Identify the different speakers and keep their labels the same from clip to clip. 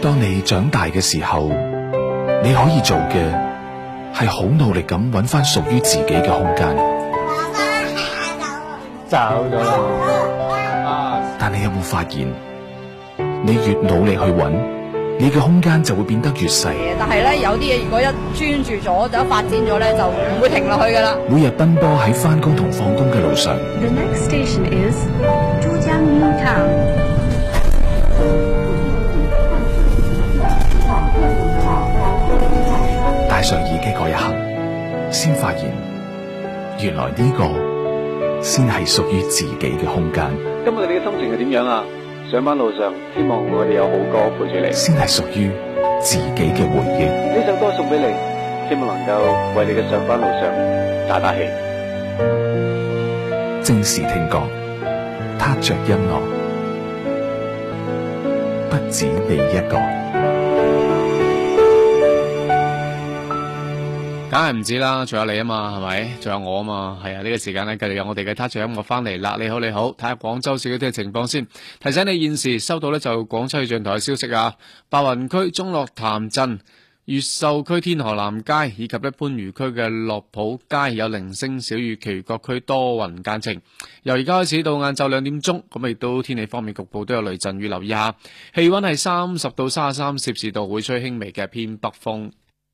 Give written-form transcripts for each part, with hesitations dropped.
Speaker 1: 當你長大嘅時候，你可以做嘅係好努力咁揾翻屬於自己嘅空間。
Speaker 2: 走咗啦！
Speaker 1: 但你有冇發現，你越努力去揾，你嘅空間就會變得越細。
Speaker 3: 但係咧，有啲嘢如果一專注咗，就一發展咗咧，就唔會停落去噶啦。
Speaker 1: 每日奔波喺翻工同放工嘅路上。
Speaker 4: The next station is 珠江 New Town。
Speaker 1: 戴上耳機嗰一刻，先發現原來呢個先係屬於自己嘅空間。
Speaker 2: 今日你嘅心情係點樣啊？上班路上，希望我哋有好歌陪住你。
Speaker 1: 先係屬於自己嘅回憶。
Speaker 2: 呢首歌送俾你，希望能夠為你嘅上班路上打打氣。
Speaker 1: 正視聽覺，踏着音樂，不止你一個。
Speaker 5: 梗係唔止啦，仲有你啊嘛，係咪？仲有我啊嘛，係啊！呢個時間呢，繼續有我哋嘅 Touch 音樂翻嚟啦。你好，你好，睇下廣州市嗰啲嘅情況先。提醒你現時收到呢就廣州氣象台嘅消息啊，白雲區中樂潭鎮、越秀區天河南街以及番禺區嘅樂浦街有零星小雨，其餘各區多雲間晴。由而家開始到晏晝2點鐘，咁亦都天氣方面局部都有雷陣雨，留意下。氣溫係30到33攝氏度，會吹輕微嘅偏北風。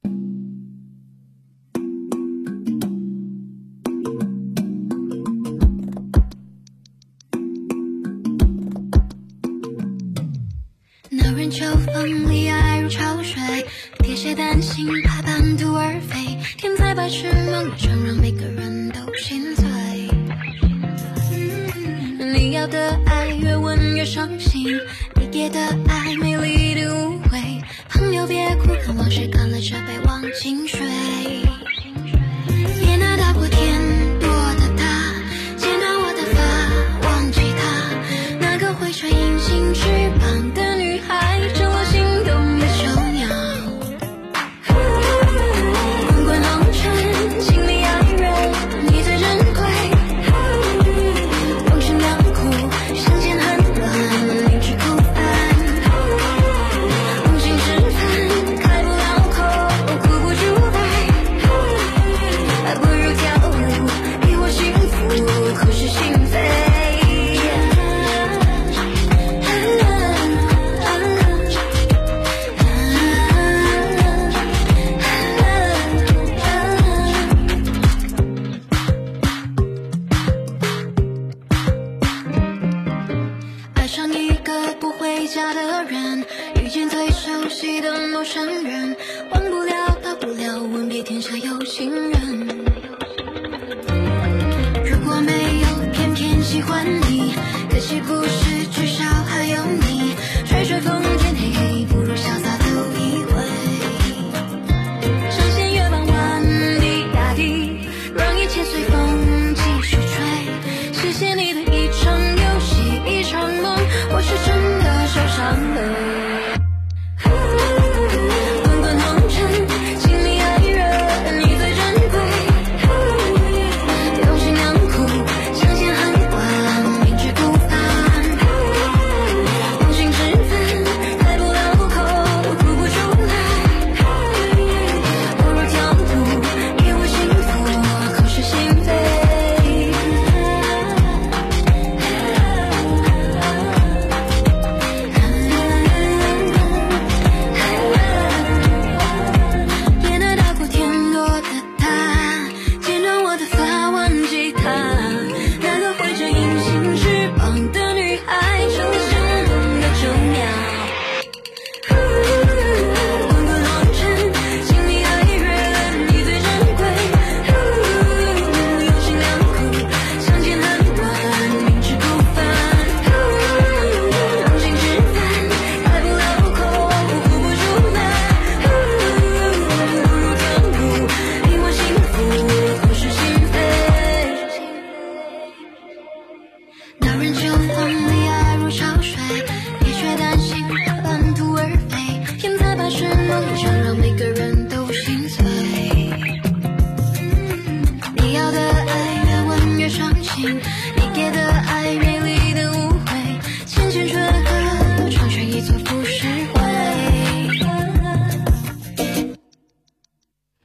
Speaker 6: 闹人秋风里爱如潮水，铁鞋担心怕半途而废，天才白痴梦一场，让每个人都心碎。你要的爱越问越伤心，你给的爱美丽的误会，朋友别哭，看往事，干了这杯忘情水。也那大过天多的他，剪断我的发，忘记他，那个会吹隐形翅膀的女孩，成了心动的囚鸟。滚滚红尘，情里爱人，你最珍贵。用心良苦，相见恨晚，明知故犯。用心吃饭，开不了口，哭不出来，还不如跳舞，给我幸福，口是心非。爱上一个不回家的人，遇见最熟悉的陌生人，忘不了到不了，吻别天下有情人。如果没有偏偏喜欢你，可惜不是，至少还有你。吹吹风卷黑黑，不如潇洒走一回。上弦月傍晚的大地，让一切随风继续吹。谢谢你的一场游戏一场梦，我是真的受伤了。滚滚红尘，情里爱人，你最珍贵。用心良苦，相见恨晚，明知故犯。用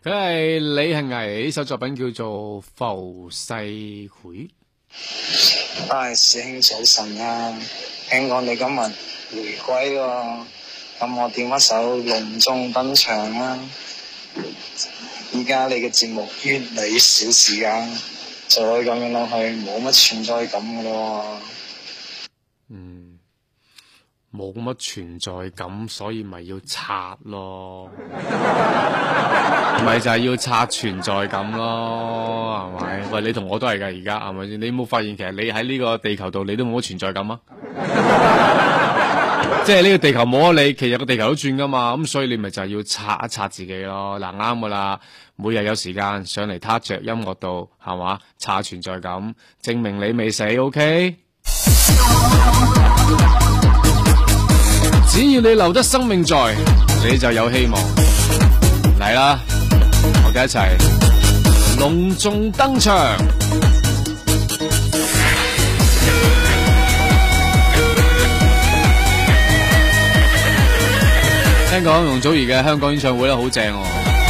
Speaker 5: 佢係李幸倪，呢首作品叫做《浮世繪》。
Speaker 7: 師兄早晨啊，聽講你今日回歸喎，咁我點一首隆重登場啦。依家你嘅節目越嚟越少時間，再咁樣落去冇乜存在感噶咯。
Speaker 5: 冇乜存在感，所以咪要刷咯，咪就係要刷存在感咯，係咪？喂，你同我都係噶，而家係咪先？你有冇發現其實你喺呢個地球度，你都冇乜存在感啊？即係呢個地球冇咗你，其實個地球都轉噶嘛，咁所以你咪就係要刷一刷自己咯。嗱，啱噶啦，每日有時間上嚟撻着音樂度，係嘛？刷存在感，證明你未死 ，OK？只要你留得生命在，你就有希望。嚟啦，我哋一齊隆重登場。聽講容祖兒嘅香港演唱會咧好正喎，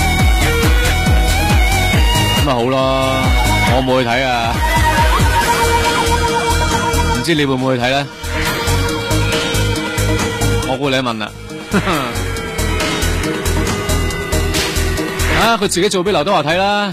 Speaker 5: 咁咪好咯，我冇去睇啊，唔知你會唔會去睇咧？我估你問啦，啊，佢自己做俾劉德華睇啦。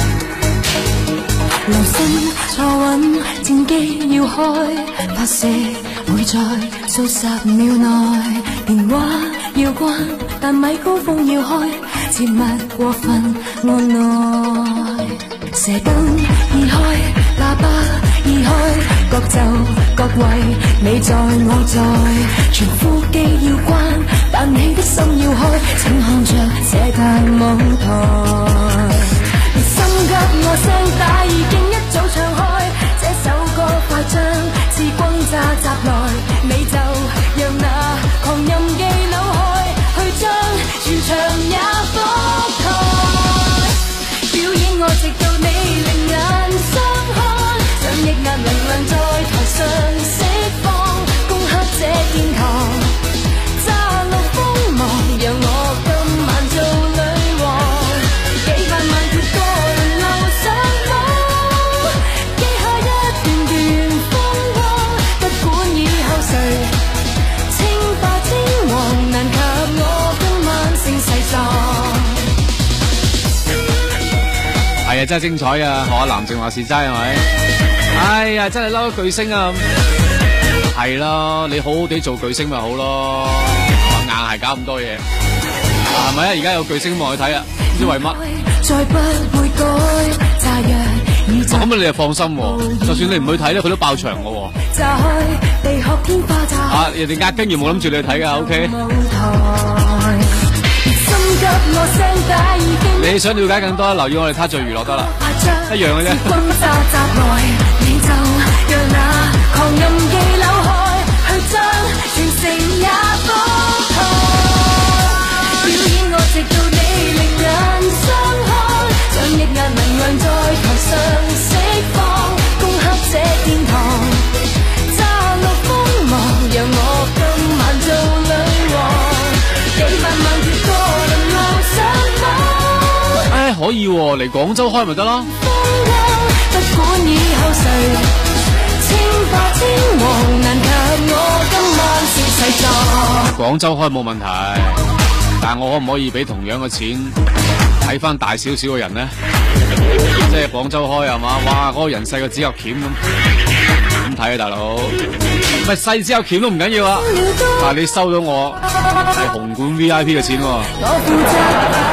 Speaker 6: 留心坐穩，戰機要開，發射會在數十秒內，電話要關，但咪高峰要開，切勿過分按耐。射燈已開，喇叭已開，各就各位，你在我在，全呼機要關，但你的心要開，請看着這大舞台。心急我聲帶已經一早唱開，這首歌快將似轟炸襲來，你就讓那狂任記扭開，去將全場也覆蓋。表演我直到你另眼相看，將抑壓能量在台上釋放，攻克這殿堂，炸落鋒芒，讓我今晚做女王。幾百萬條歌輪流上網，記下一段段風光，不管以後誰稱霸天王，難及我今晚盛世狀。
Speaker 5: 係啊，真係精彩啊！學阿藍正話事齋係咪？哎呀，真係嬲巨星啊！係啦，你好好地做巨星咪好咯，硬係搞咁多嘢，係咪啊？而家有巨星望去睇啊，唔知為乜。
Speaker 6: 再不會改，炸藥已炸。
Speaker 5: 咁你就放心喎，就算你唔去睇咧，佢都爆場嘅喎。
Speaker 6: 炸開，地殼天花炸。
Speaker 5: 啊，人哋壓根完冇諗住你去睇㗎 ，OK。你想了解更多，留意我哋他做娛樂得啦，一樣嘅啫。可以喎，嚟廣州開咪得咯。廣州開冇問題，但係我可唔可以俾同樣嘅錢睇翻大少少嘅人呢？即係廣州開係嘛？哇，嗰個人細個指甲鉗咁，點睇啊大佬？唔係細指甲鉗都唔緊要啊，但係你收到我係紅館 VIP 嘅錢喎。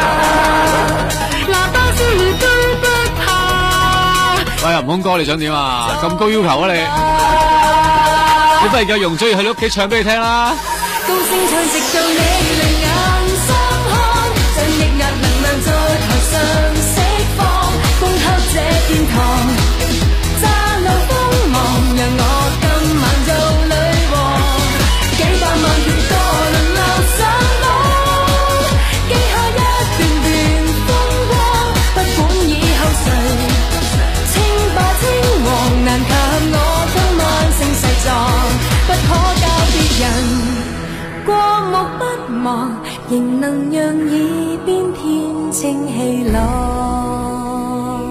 Speaker 5: 喂，吳空哥，你想點啊？咁高要求啊你？你不如叫容祖兒去你屋企唱俾你聽啦。高聲唱直到你兩眼相看，將抑壓能量在台上釋放，攻克這殿堂，炸露鋒芒，讓我今晚做女王。幾百萬條歌輪流上網，記下一段段風光，不管以後誰難及我今晚盛世狀，不可教別人過目不忘，仍能讓耳邊天
Speaker 6: 溫清氣朗。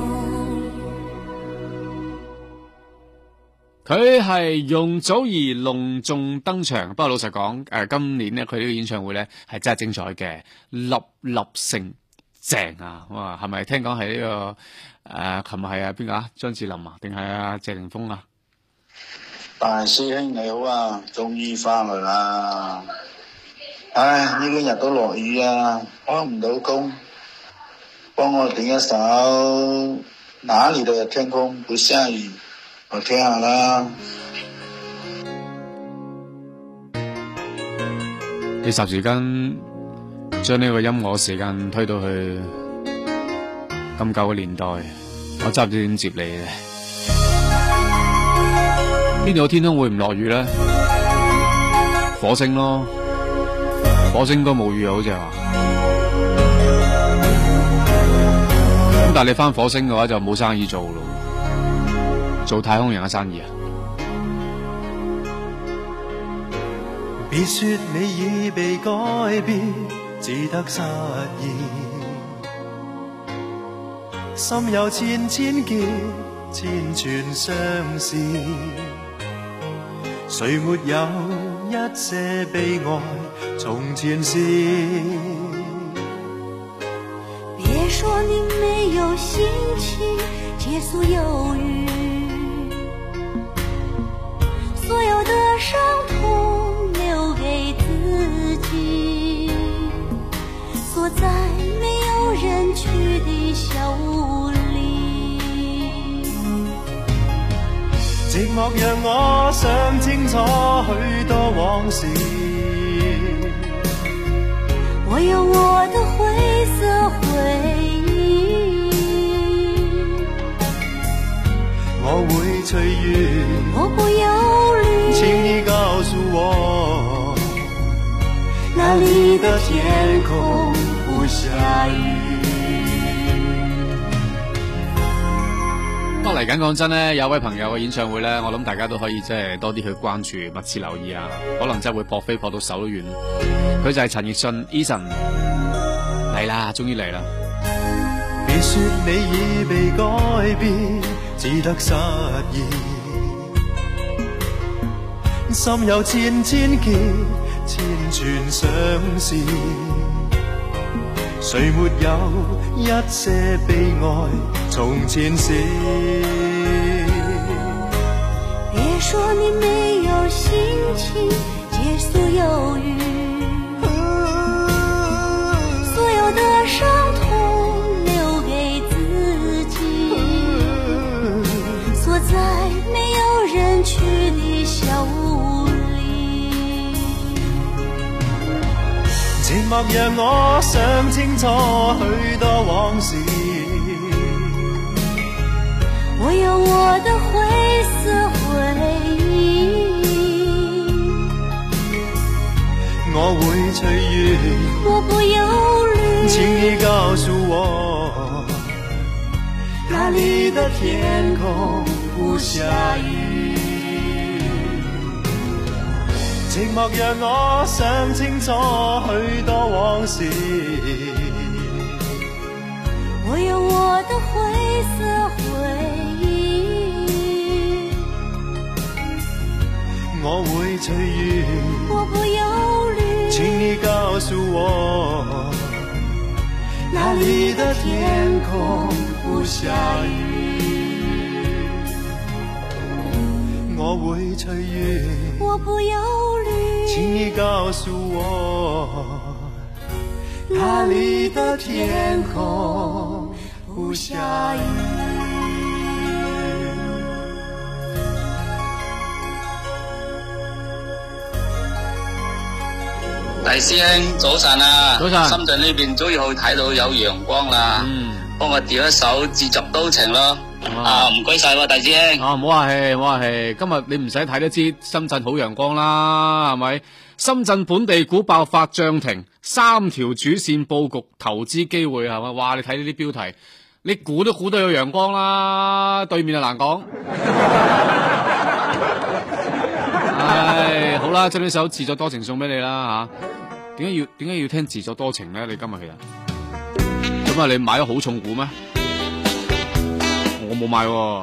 Speaker 5: 佢係容祖兒隆重登場，不過老實講，今年呢，佢呢個演唱會呢係真係精彩嘅，粒粒聲正啊！哇，係咪聽講係呢個琴日係邊個啊？張智霖啊，定係謝霆鋒啊？
Speaker 7: 大師兄你好啊，終於翻嚟啦！唉，呢幾日都落雨啊，開唔到工，幫我點一首《哪裡的天空不下雨》，我聽下啦。
Speaker 5: 你霎時間將呢個音樂時間推到去咁舊嘅年代，我真係唔知點接你咧。邊度有天空會唔落雨咧？火星咯，火星應該冇雨啊，好似係話。咁但係你返火星嘅話就冇生意做咯，做太空人嘅生意啊。
Speaker 8: 別說你已被改變，只得失意。心有千千結，千串相思。誰沒有一些悲哀從前事？
Speaker 6: 別說你沒有心情結束憂鬱，所有的傷痛留給自己，鎖在沒有人去的小屋裏。
Speaker 8: 寂寞讓我想清楚許多往事，
Speaker 6: 我有我的灰色回憶，
Speaker 8: 我會隨緣，
Speaker 6: 我不憂慮，
Speaker 8: 請你告訴我，
Speaker 6: 哪裡的天空不下雨。
Speaker 5: 嚟緊講真咧，有位朋友嘅演唱會咧，我諗大家都可以即係多啲去關注，密切留意啊！可能真係會撲飛撲到手都軟。佢就係陳奕迅 Eason 嚟啦，終於嚟啦！
Speaker 8: 別說你已被改變，只得失意。心有千千結，千串相思。誰沒有一些悲哀從前事？
Speaker 6: 別說你沒有心情結束憂鬱，所有的傷痛留給自己，鎖在沒有人去的小屋裏。
Speaker 8: 寂寞讓我想清楚許多往事，
Speaker 6: 我有我的灰色回憶，
Speaker 8: 我會隨緣，
Speaker 6: 我不憂慮，
Speaker 8: 請你告訴我，哪裡的天空不下雨。寂寞讓我想清楚許多往事，
Speaker 6: 我有我的灰色回憶，
Speaker 8: 我會隨緣，
Speaker 6: 我不憂慮，
Speaker 8: 請你告訴我，哪裡的天空不下雨。我會隨緣，
Speaker 6: 我不憂慮，
Speaker 8: 請你告訴我，哪裡的天空不下雨。
Speaker 9: 大師兄早晨啊！
Speaker 5: 早晨，
Speaker 9: 深圳呢邊終於可以睇到有陽光啦。幫我調一首《自作多情》咯。唔該晒喎，大師兄。
Speaker 5: 唔好客氣，唔好客氣。今日你唔使睇都知深圳好陽光啦，係咪？深圳本地股爆發漲停，3條主線佈局投資機會係咪？哇！你睇呢啲標題，你估都估到有陽光啦，對面就難講。唉，好啦，將呢首《自作多情》送俾你啦吓。點解要聽《自作多情》咧？你今日其實做點啊？你買咗好重股咩？我冇買喎。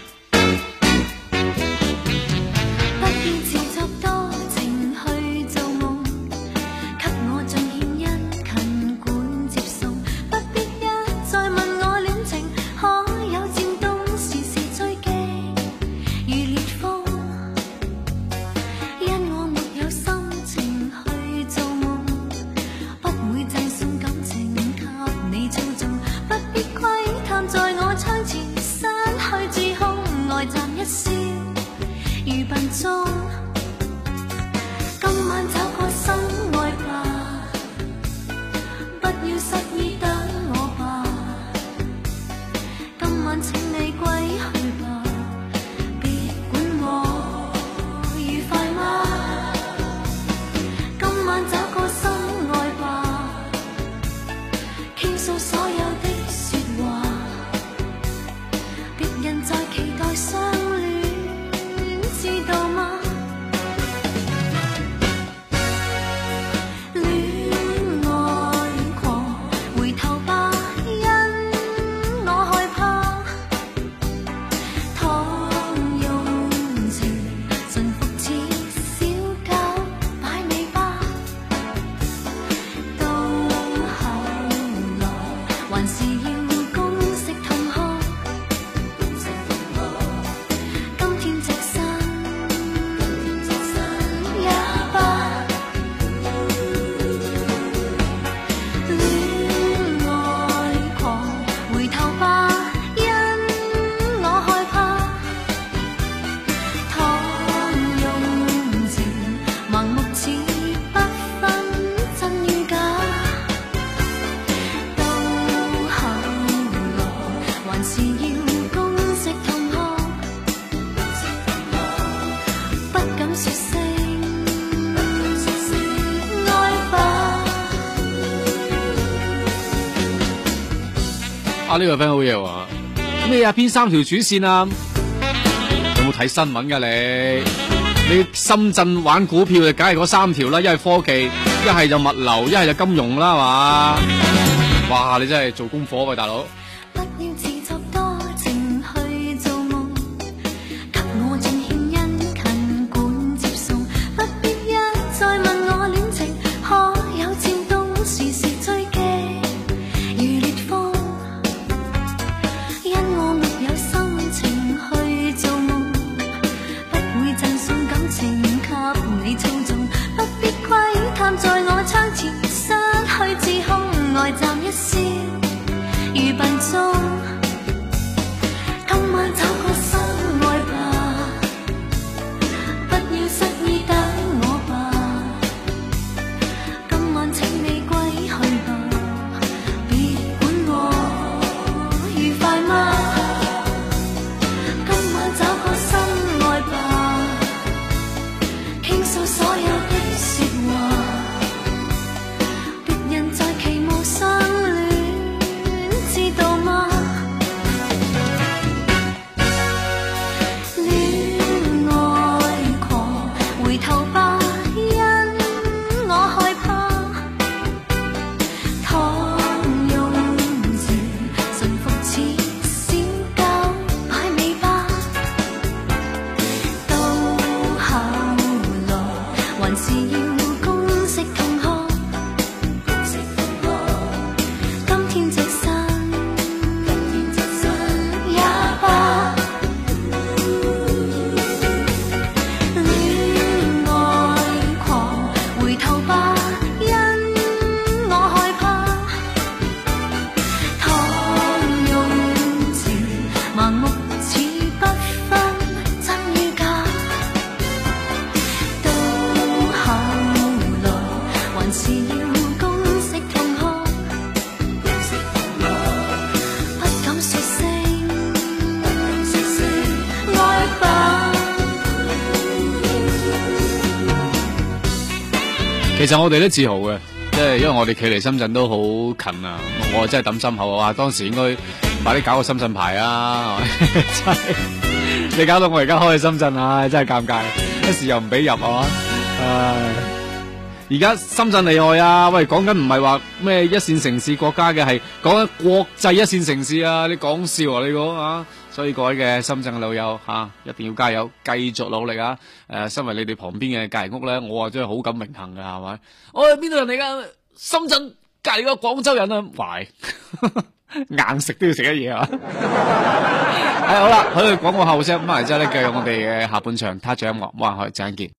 Speaker 5: 呢個 friend 好嘢喎！咩啊？邊3條主線啊？有冇睇新聞㗎你？你深圳玩股票就梗係嗰3條啦，一係科技，一係就物流，一係就金融啦，係嘛？哇！你真係做功課喎，大佬。其實我哋都自豪嘅，即係因為我哋距離深圳都好近啊！我真係抌心口啊！當時應該快啲搞個深圳牌啊！真係你搞到我而家開去深圳啊，真係尷尬！一時又唔俾入啊！唉， 而家深圳厲害啊！喂，講緊唔係話咩一線城市國家嘅，係講緊國際一線城市啊！你講笑啊？你講啊？所以各位嘅深圳嘅老友一定要加油，繼續努力啊！身為你哋旁邊嘅隔離屋咧，我真係好感榮幸㗎，係咪？我係邊度人嚟㗎？深圳隔離個廣州人啊！喂，硬食都要食一嘢啊！好啦，去廣告後聲，翻嚟之後咧，繼續我哋嘅下半場，他著音樂，冇人可以陣間見。